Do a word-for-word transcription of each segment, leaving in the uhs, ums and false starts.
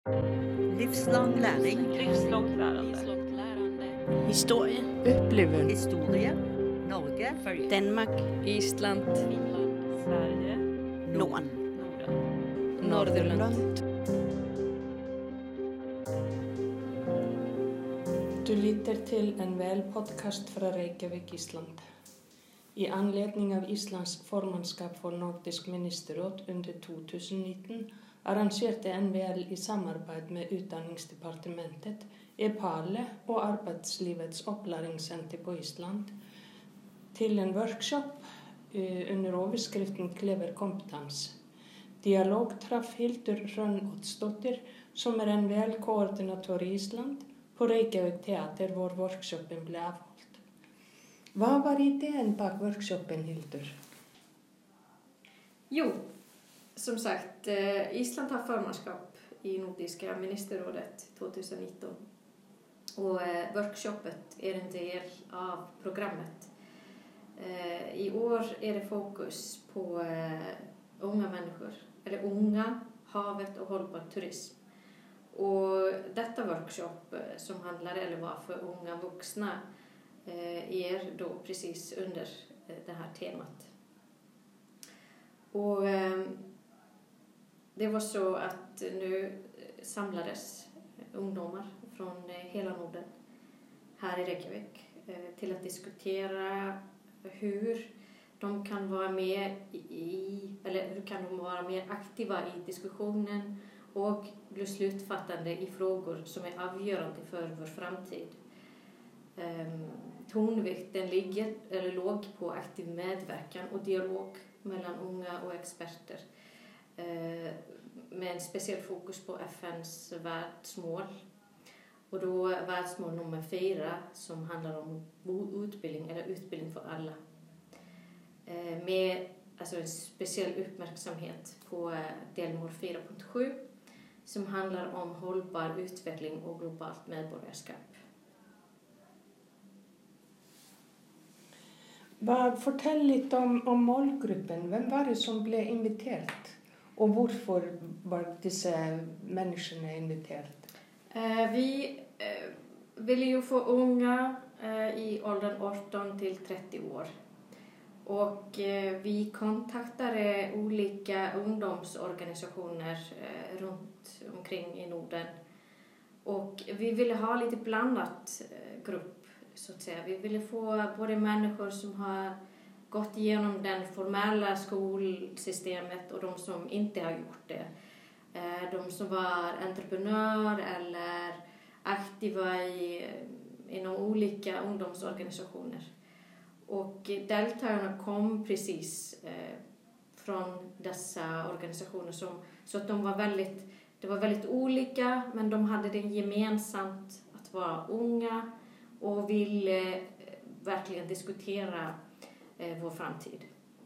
Livslång läring. Livslångt lärande. Historie. Upplevelser. Historia. Norge. Danmark. Island. Finland. Sverige. Norden. Norden. Nordirland. Du lytter til en vel podcast fra Reykjavik, Island. I anledning av Islands formannskap for Nordisk ministerråd under to tusen nitten arrangerte N V L i samarbeid med Utdanningsdepartementet, EPALE og Arbeidslivets opplæringssenter på Island til en workshop under overskriften Klever kompetens. Dialog traff Hildur Hrönn Oddsdóttir, som er N V L-koordinator i Island, på Reykjavik Teater, hvor workshopen ble avholdt. Hva var idén bak workshopen, Hildur? Jo, som sagt, Island har formannskap i Nordiska ministerrådet tjugonitton. Och workshopet är en del av programmet. I år är det fokus på unga människor, eller unga, havet och hållbar turism. Och detta workshop som handlar eller var för unga vuxna är då precis under det här temat. Och det var så att nu samlades ungdomar från hela Norden här i Reykjavik till att diskutera hur de kan vara med i, eller hur kan de vara mer aktiva i diskussionen och bli slutfattande i frågor som är avgörande för vår framtid. Um, tonvikten ligger, eller låg på aktiv medverkan och dialog mellan unga och experter. Uh, med en speciell fokus på F N:s världsmål. Och då världsmål nummer fyra som handlar om utbildning, eller utbildning för alla. Uh, med alltså en speciell uppmärksamhet på delmål fyra punkt sju. Som handlar om hållbar utveckling och globalt medborgarskap. Fortell lite om, om målgruppen. Vem var det som blev inviterat? Och varför var dessa människorna inviterat? Eh, vi eh, ville ju få unga eh, i åldern arton till trettio år. Och eh, vi kontaktade olika ungdomsorganisationer eh, runt omkring i Norden. Och vi ville ha lite blandat eh, grupp, så att säga. Vi ville få både människor som har gått igenom den formella skolsystemet och de som inte har gjort det. Eh, de som var entreprenör eller aktiva i, inom olika ungdomsorganisationer. Och deltagarna kom precis eh, från dessa organisationer som, så att de var väldigt, det var väldigt olika, men de hade det gemensamt att vara unga och ville eh, verkligen diskutera eh, vår framtid.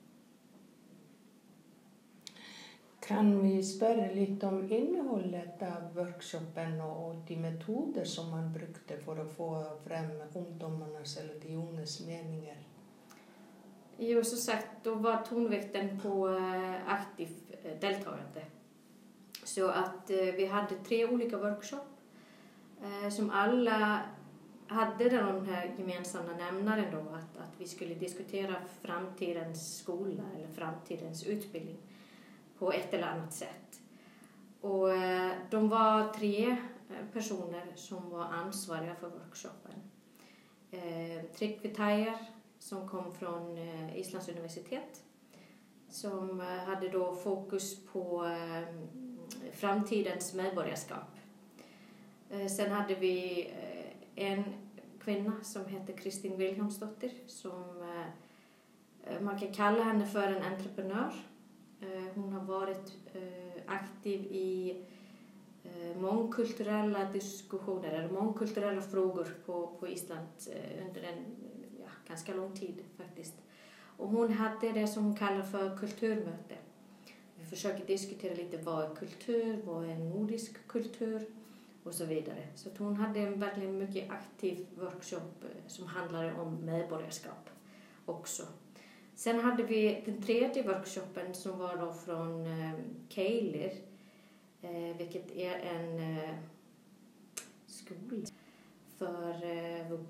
Kan vi spöra lite om innehållet av workshopen och de metoder som man brukade för att få fram ungdomarnas eller de ungas meningar? Jo, så sagt, då var tonvikten på aktivt deltagande. Så att vi hade tre olika workshop som alla hade den här gemensamma nämnaren då, att, att vi skulle diskutera framtidens skola eller framtidens utbildning på ett eller annat sätt. Och de var tre personer som var ansvariga för workshopen. Tryggve Tajer som kom från Islands universitet, som hade då fokus på framtidens medborgarskap. Sen hade vi en kvinna som heter Kristin Vilhelmsdottir, som man kan kalla henne för en entreprenör. Hon har varit aktiv i mångkulturella diskussioner eller mångkulturella frågor på, på Island under en ja, ganska lång tid faktiskt. Och hon hade det som hon kallar för kulturmöte. Vi försöker diskutera lite vad är kultur, vad är nordisk kultur och så vidare. Så att hon hade en verkligen mycket aktiv workshop som handlade om medborgarskap också. Sen hade vi den tredje workshopen som var då från eh, Keilir, eh, vilket är en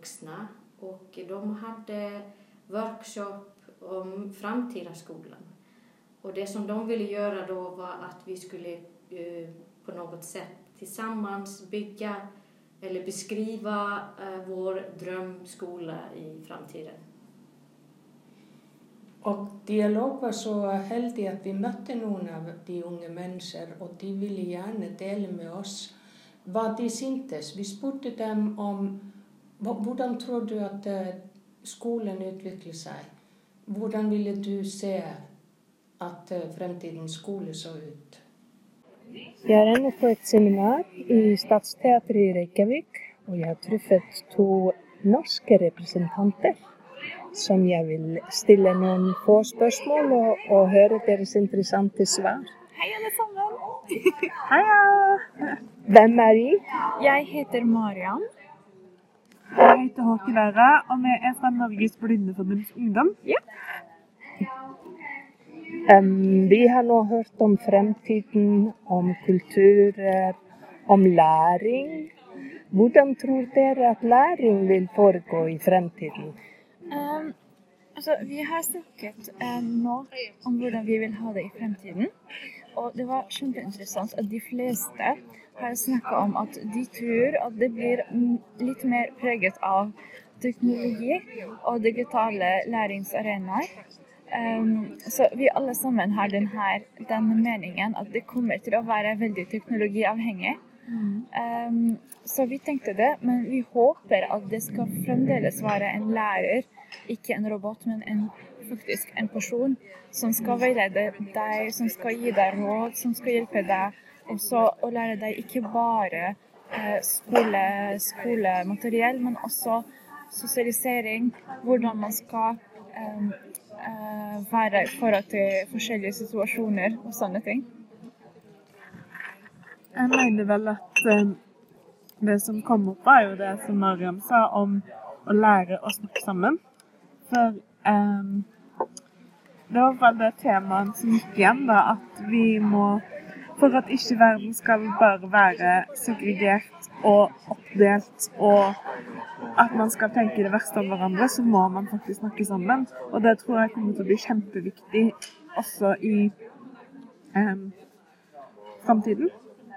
vuxna och de hade workshop om framtida skolan. Och det som de ville göra då var att vi skulle uh, på något sätt tillsammans bygga eller beskriva uh, vår drömskola i framtiden. Og dialog var så heldig at vi møtte noen av de unge mennesker, og de ville gjerne dele med oss hva de syntes. Vi spurte dem om hvordan tror du at skolen utvikler seg? Hvordan ville du se at fremtidens skole så ut? Jeg er ennå på et seminar i Stadsteatret i Reykjavik, og jeg har truffet to norske representanter som jeg vil stille noen få spørsmål og, og høre deres interessante svar. Hei alle sammen! Heia! Hvem er I? Jeg heter Marian. Jeg heter Håke Læra, og vi er fra Norges Blindeforbunds Ungdom. Ja. Um, vi har nå hørt om fremtiden, om kulturer, om læring. Hvordan tror dere at læring vil foregå i fremtiden? Um, altså, vi har snakket uh, nå om hvordan vi vil ha det i fremtiden. Og det var kjempeinteressant at de fleste har snakket om at de tror at det blir litt mer preget av teknologi og digitale læringsarenaer. Um, så vi alle sammen har denne, denne meningen at det kommer til å være veldig teknologiavhengig. Mm. Um, så vi tenkte det, men vi håper at det skal fremdeles være en lærer, ikke en robot, men en, faktisk en person som skal veilede deg, som skal gi deg råd, som skal hjelpe deg, og så å lære deg ikke bare eh, skole, skolemateriell, men også sosialisering, hvordan man skal eh, eh, være i forhold til forskjellige situasjoner og sånne ting. Jeg mener vel at um, det som kom opp var jo det som Mariam sa om å lære å snakke sammen. For um, det var vel det temaet som gikk igjen da, at vi må, for at ikke verden skal bare være segregert og oppdelt, og at man skal tenke det verste om hverandre, så må man faktisk snakke sammen. Og det tror jeg kommer til å bli kjempeviktig også i um, fremtiden.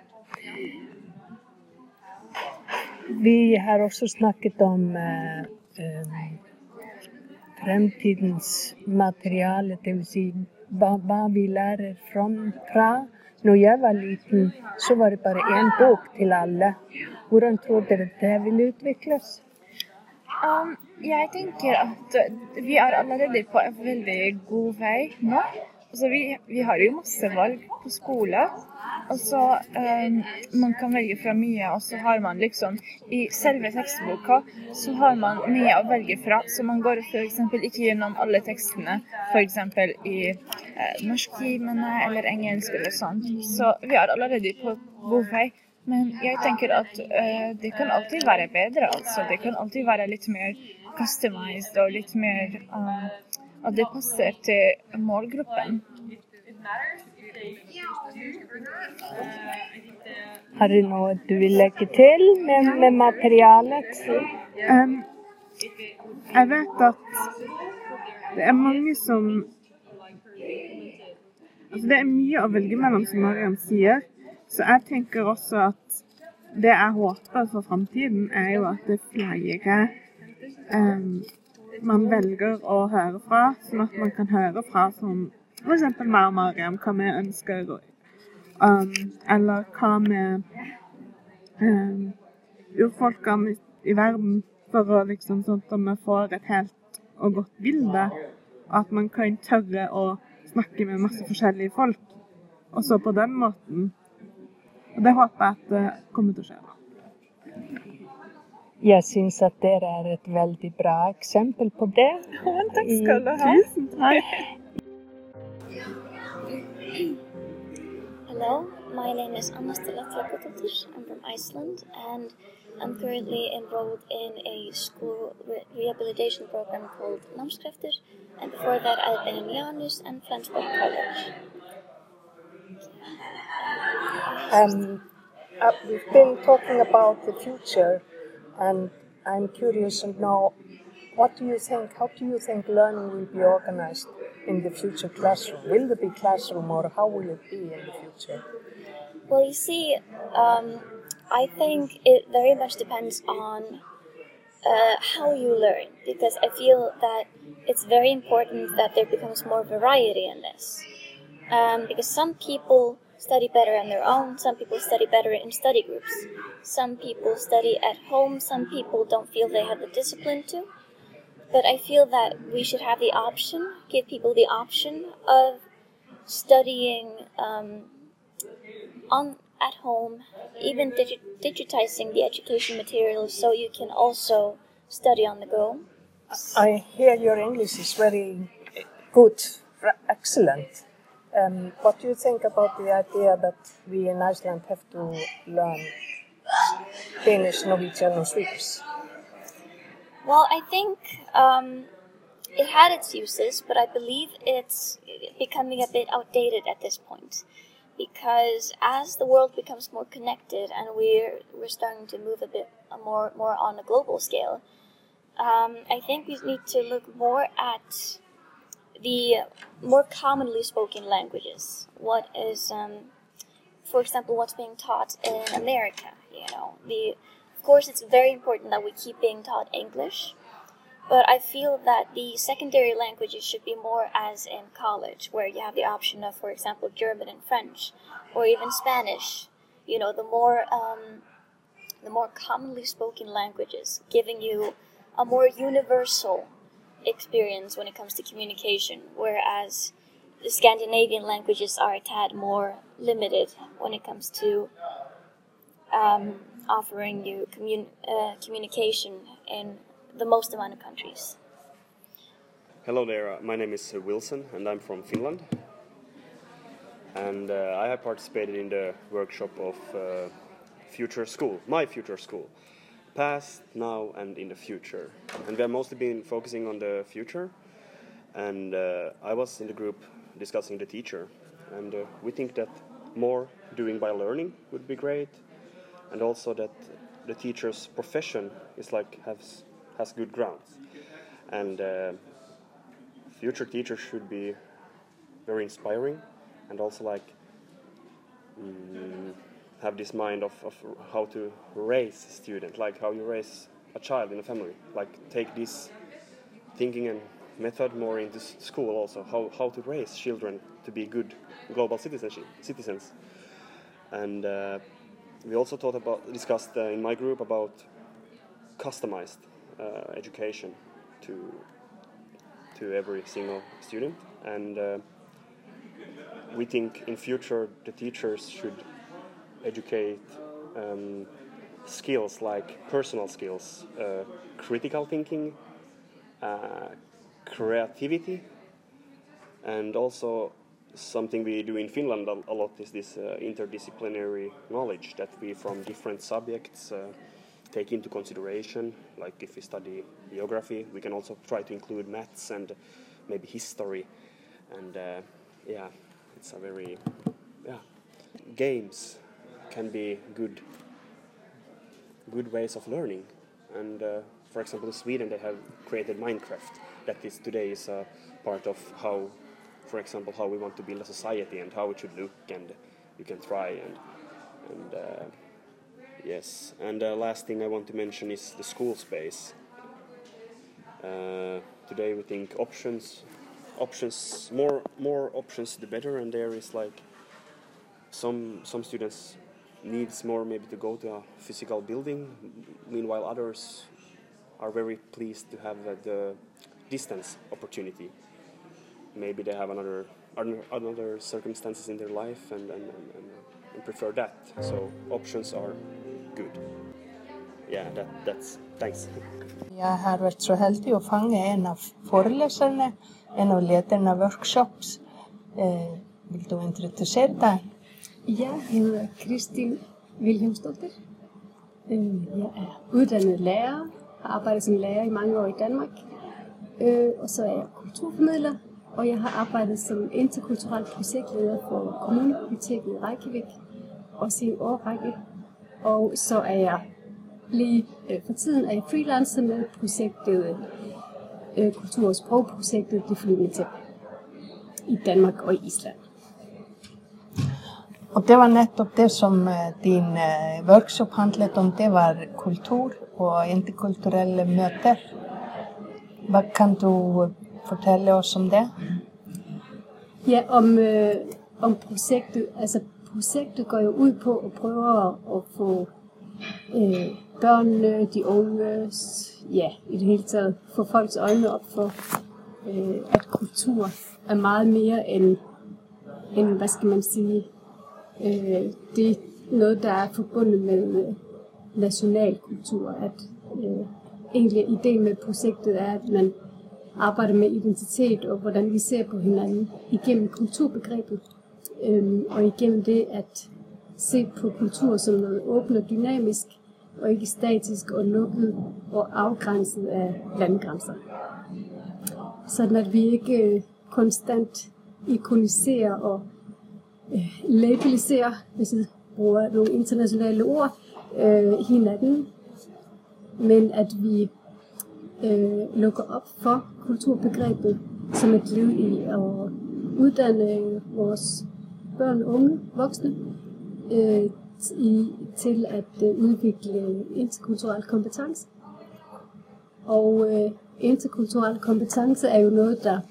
Vi har også snakket om uh, um, fremtidens materiale, det vil si hva, hva vi lærer fra, fra. Når jeg var liten, så var det bare en bok til alle. Hvordan tror dere det vil utvikles? Um, jeg tenker at vi er allerede på en veldig god vei nå. Altså, vi, vi har jo masse valg på skole. Altså, um, man kan velge fra mye, og så har man liksom, i selve tekstboka, så har man mye å velge fra, så man går for eksempel ikke gjennom alle tekstene, for eksempel i eh, norsktimene eller engelsk eller sånt. Så vi er allerede på god vei, men jeg tenker at eh, det kan alltid være bedre, altså. Det kan alltid være litt mer customized og litt mer, um, at det passer til målgruppen. Har du noe du vil legge til med, med materialet? Um, jeg vet at det er mange som... Altså det er mye å velge mellom, som Mariam sier. Så jeg tenker også at det jeg håper for fremtiden er jo at det er flere um, man velger å høre fra, sånn at man kan høre fra som for eksempel meg og Mariam, hva vi ønsker, um, eller hva med um, urfolkene i, i verden, for å liksom sånn at vi får et helt og godt bilde, at man kan tørre å snakke med masse forskjellige folk, og så på den måten. Og det håper jeg at det kommer til å skje. Jeg synes at dere er et veldig bra eksempel på det. Å, takk skal du ha. Tusen takk. Hello, my name is Anna Stella Trakotottir. I'm from Iceland and I'm currently enrolled in a school re rehabilitation program called Námskraftur, and before that I've been in Janus and Flensburg College. Um, uh, we've been talking about the future, and I'm curious to know, what do you think, how do you think learning will be organized in the future classroom? Will there be classroom, or how will it be in the future? Well, you see, um, I think it very much depends on uh, how you learn, because I feel that it's very important that there becomes more variety in this. Um, because some people study better on their own, some people study better in study groups. Some people study at home, some people don't feel they have the discipline to. But I feel that we should have the option, give people the option of studying um, on at home, even digi- digitizing the education materials so you can also study on the go. I hear your English is very good, excellent. Um, what do you think about the idea that we in Iceland have to learn Danish, Norwegian, or Swedish? Well, I think um, it had its uses, but I believe it's becoming a bit outdated at this point. Because as the world becomes more connected and we're we're starting to move a bit more more on a global scale, um, I think we need to look more at the more commonly spoken languages. What is, um, for example, what's being taught in America? You know, the of course it's very important that we keep being taught English, but I feel that the secondary languages should be more as in college, where you have the option of, for example, German and French, or even Spanish. You know, the more um, the more commonly spoken languages, giving you a more universal experience when it comes to communication, whereas the Scandinavian languages are a tad more limited when it comes to um, offering you commun- uh, communication in the most amount of countries. Hello there, my name is Wilson and I'm from Finland. And uh, I have participated in the workshop of uh, Future School, my future school. Past, now and in the future. And we have mostly been focusing on the future. And uh, I was in the group discussing the teacher. And uh, we think that more doing by learning would be great. And also that the teacher's profession is like has has good grounds. And uh, future teachers should be very inspiring and also like mm, have this mind of, of how to raise a student, like how you raise a child in a family. Like take this thinking and method more into school also, how, how to raise children to be good global citizenship, citizens. And uh, we also thought about, discussed uh, in my group about customized uh, education to to every single student. And uh, we think in future the teachers should educate um, skills like personal skills, uh, critical thinking, uh, creativity, and also something we do in Finland a lot is this uh, interdisciplinary knowledge that we from different subjects uh, take into consideration. Like if we study geography, we can also try to include maths and maybe history. And uh, yeah, it's a very, yeah, games can be good good ways of learning. And uh, for example, in Sweden they have created Minecraft. That is today is a part of how, for example, how we want to build a society and how it should look, and you can try and and uh, yes. And the uh, last thing I want to mention is the school space. Uh, today we think options, options, more more options the better, and there is like some some students needs more maybe to go to a physical building, meanwhile others are very pleased to have uh, the distance opportunity. Maybe they have another another circumstances in their life and, and, and, and prefer that. So options are good. Yeah, that, that's, thanks. Jeg har vært så heldig å fange en av foreleserne, en av lederne av workshops. Eh, vil du introdusere deg? Ja, jeg hedder Kristin Wilhelmsdotter. Jeg er uddannet lærer, har arbejdet som lærer i mange år i Danmark. Og så er jeg kulturformidler, og jeg har arbejdet som interkulturel projektleder for Kommunebiblioteket i Reykjavik, også i en årrække. Og så er jeg lige, øh, for tiden er jeg freelancer med projektet, øh, kultur- og sprogprojektet Det Flyvende Tæppe i Danmark og i Island. Og det var netop det som din uh, workshop handlede om, det var kultur og interkulturelle møter. Hvad kan du fortælle os om det? Ja, om, øh, om projektet. Altså projektet går jo ud på at prøve at, at få øh, børnene, de unge, ja, i det hele taget, få folks øjne op for, øh, at kultur er meget mere end, end hvad skal man sige, øh, det er noget, der er forbundet med øh, national kultur. At øh, egentlig ideen med projektet er, at man arbejder med identitet og hvordan vi ser på hinanden igennem kulturbegrebet. Øhm, og igennem det at se på kultur som noget åbent og dynamisk, og ikke statisk og lukket og afgrænset af landegrænser. Sådan at vi ikke øh, konstant ikoniserer og øh, labeliserer, hvis jeg bruger nogle internationale ord, øh, hinanden, men at vi øh, lukker op for kulturbegrebet som et led i at uddanne vores børn, unge, voksne øh, i, til at øh, udvikle interkulturel kompetence. Og øh, interkulturel kompetence er jo noget, der,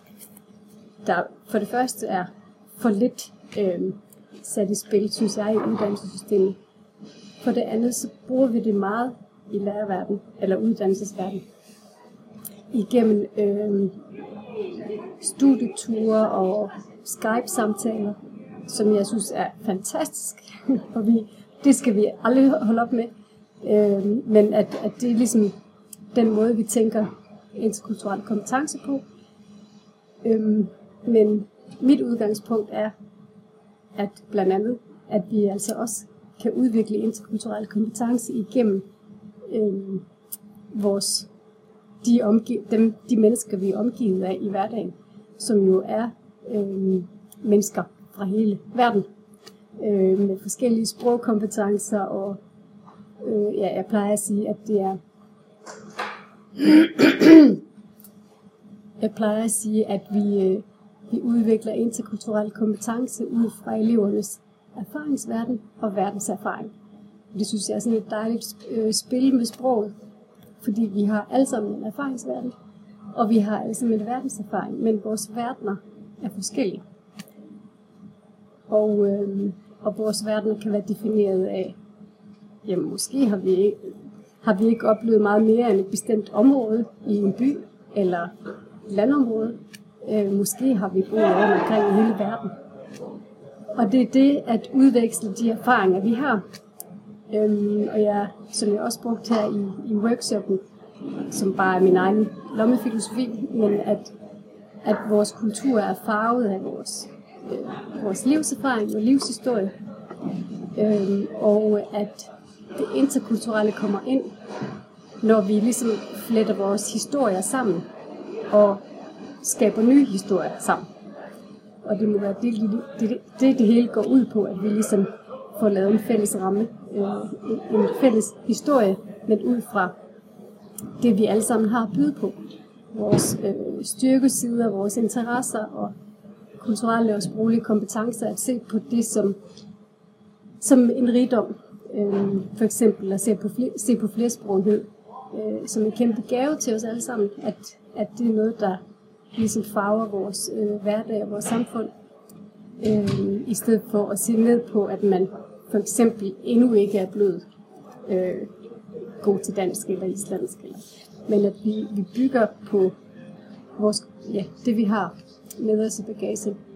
der for det første er for lidt øh, sat i spil, synes jeg, i uddannelsessystemet. For det andet, så bruger vi det meget i lærerverden, eller uddannelsesverden, igennem øh, studieture og Skype-samtaler, som jeg synes er fantastisk, og vi, det skal vi aldrig holde op med. Øh, men at, at det er ligesom den måde, vi tænker interkulturel kompetence på. Øh, men mit udgangspunkt er, at blandt andet, at vi altså også kan udvikle interkulturel kompetence igennem øh, vores, de, omgiv, dem, de mennesker, vi er omgivet af i hverdagen, som jo er øh, mennesker fra hele verden, øh, med forskellige sprogkompetencer, og øh, ja, jeg plejer at sige, at det er jeg plejer at sige, at vi, øh, vi udvikler interkulturel kompetence ud fra elevernes erfaringsverden og verdenserfaring. Det synes jeg er sådan et dejligt øh, spil med sproget, fordi vi har alle sammen en erfaringsverden, og vi har alle sammen en verdenserfaring, men vores verdener er forskellige. Og, øh, og vores verdener kan være defineret af, jamen måske har vi, ikke, har vi ikke oplevet meget mere end et bestemt område i en by eller landområde. Øh, måske har vi boet rundt omkring i hele verden. Og det er det at udveksle de erfaringer, vi har. Øhm, og jeg, som jeg også brugte her i, i workshoppen, som bare er min egen lommefilosofi, men at, at vores kultur er farvet af vores, øh, vores livserfaring og livshistorie. Øhm, og at det interkulturelle kommer ind, når vi ligesom fletter vores historier sammen og skaber nye historier sammen. Og det må være det, det, det, det, det hele går ud på, at vi ligesom får lavet en fælles ramme, øh, en fælles historie, men ud fra det, vi alle sammen har at byde på. Vores øh, styrkesider, vores interesser og kulturelle og sproglige kompetencer, at se på det som, som en rigdom. Øh, for eksempel at se på, fler, se på flersproghed øh, som en kæmpe gave til os alle sammen, at, at det er noget, der ligesom farver vores øh, hverdag og vores samfund, øh, i stedet for at se ned på, at man for eksempel endnu ikke er blevet øh, god til dansk eller islandsk, eller, men at vi, vi bygger på vores, ja, det, vi har med os i bagagen.